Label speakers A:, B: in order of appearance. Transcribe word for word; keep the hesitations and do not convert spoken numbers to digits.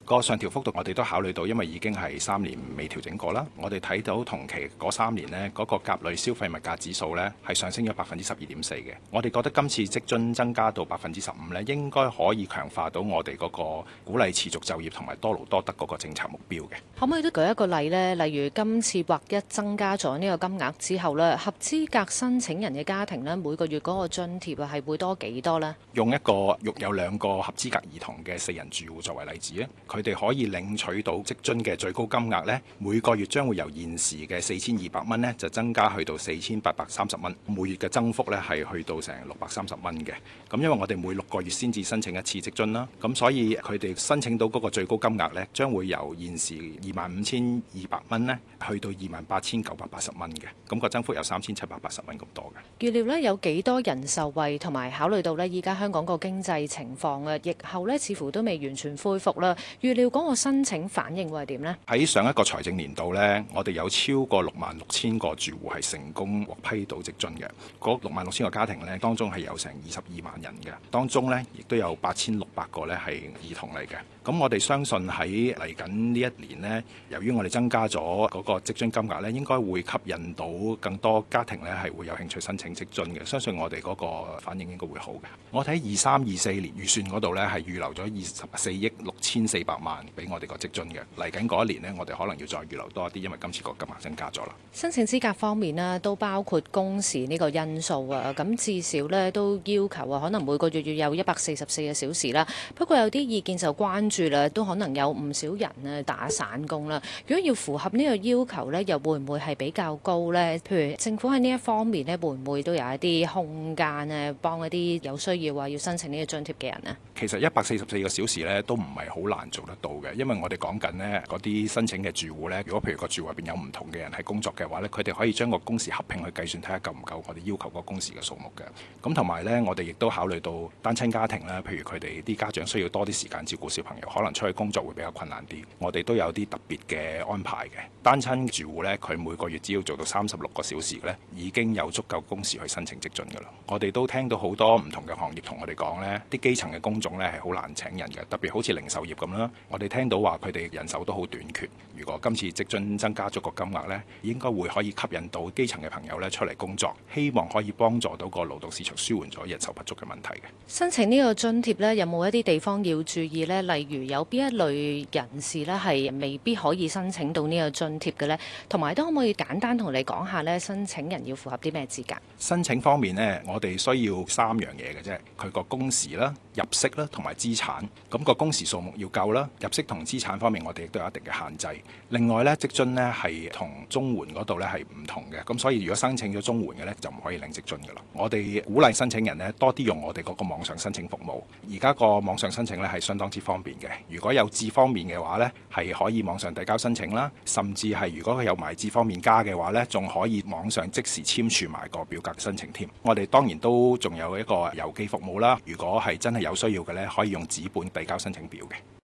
A: 個上調幅度我哋都考慮到，因為已經係三年未調整過啦。我哋睇到同期嗰三年呢，嗰個甲類消費物價指數呢係上升咗百分之十二點四嘅。我哋覺得今次職津增加到百分之十五呢，應該可以強化到我哋嗰個鼓勵持續就業同埋多勞多得嗰個政策目標嘅。
B: 可唔可以都舉一個例呢？例如今次劃一增加咗呢個金額之後呢，合資格申請人嘅家庭呢，每個月嗰個津貼啊係會多幾多呢？
A: 用一個育有兩個合資格兒童嘅四人住戶作為例子咧，佢哋可以領取到職津嘅最高金額呢，每個月將會由現時嘅四千二百蚊呢，就增加去到四千八百三十蚊，每月嘅增幅呢係去到成六百三十蚊嘅。咁因為我哋每六個月先至申請一次職津啦，咁所以佢哋申請到嗰個最高金額呢，將會由現時二萬五千二百蚊呢，去到二萬八千九百八十蚊嘅，咁個增幅有三千七百八十蚊咁多嘅。
B: 預料呢有幾多人受惠，同埋考慮到呢依家香港個經濟情況啊，疫後呢似乎都未完全恢復啦。預料嗰個申請反應會係點呢？
A: 喺上一個財政年度呢，我哋有超過六萬六千個住戶係成功獲批到職津嘅。嗰六萬六千個家庭呢，當中係有成二十二萬人嘅，當中呢亦都有八千六百個呢係兒童嚟嘅。咁我哋相信喺嚟緊呢一年呢，由於我哋增加咗嗰個職津金額呢，應該會吸引到更多家庭呢係會有興趣申請職津嘅。相信我哋嗰個反應應該會好嘅。我睇二三二四年預算嗰度呢，係預留咗二十四億六千四百萬俾我哋個職津嘅。嚟緊嗰一年呢，我哋可能要再預留多一啲，因為今次個金額增加咗啦。
B: 申請資格方面呢，都包括工時呢個因素啊。咁至少呢，都要求啊，可能每個月要有一百四十四個小時啦。不過有啲意見就關注啦，都可能有唔少人啊打散工啦。如果要符合呢個要求呢，又會唔會係比較高呢？譬如政府喺呢一方面呢，會唔會都有一啲空間呢，幫一啲有需要話要申請呢個津貼嘅人呢？
A: 其實一百四十四個小時呢都唔係好難做得到嘅，因為我哋講緊呢嗰啲申請嘅住戶呢，如果譬如個住戶入邊有唔同嘅人係工作嘅話呢，佢哋可以將個工時合併去計算，睇下夠唔夠我哋要求個工時嘅數目嘅。咁同埋呢，我哋亦都考慮到單親家庭啦，譬如佢哋啲家長需要多啲時間照顧小朋友，可能出去工作會比較困難啲，我哋都有啲特別嘅安排嘅。單親住戶呢，佢每個月只要做到三十六個小時呢，已經有足夠工時去申請職津㗎啦。我哋都聽到好多唔同嘅行業同我哋講呢，啲基層嘅工種呢係好難請人嘅，特別好似零售業咁啦。我哋聽到話佢哋人手都好短缺。如果今次職津增加咗個金額呢，應該會可以吸引到基層嘅朋友呢出嚟工作，希望可以幫助到個勞動市場舒緩咗人手不足嘅問題嘅。
B: 申請呢個津貼呢，有冇一啲地方要注意呢？例如有邊一類人士呢係未必可以申請到呢個津貼嘅呢？同埋都可唔可以簡單同你講下呢？申請人要符合啲咩資格？
A: 申請方面呢，我哋需要三樣嘢嘅啫，佢個工時啦、入息啦同埋資產。咁個工時數目要夠啦，入息同資產方面我哋亦都有一定嘅限制。另外呢，職津呢係同綜援嗰度呢係唔同嘅，咁所以如果申請咗綜援嘅呢，就唔可以領職津㗎啦。我哋鼓勵申請人呢多啲用我哋嗰個網上申請服務。而家個網上申請呢係相當之方便嘅。如果有智方面嘅話呢，係可以網上遞交申請啦，甚至係如果佢有埋智方面加嘅話呢，仲可以網上即時簽署埋個表格申請添。我哋當然都仲有一個郵寄服務啦。如果係真係有需要嘅呢，可以用紙本遞交申請表嘅。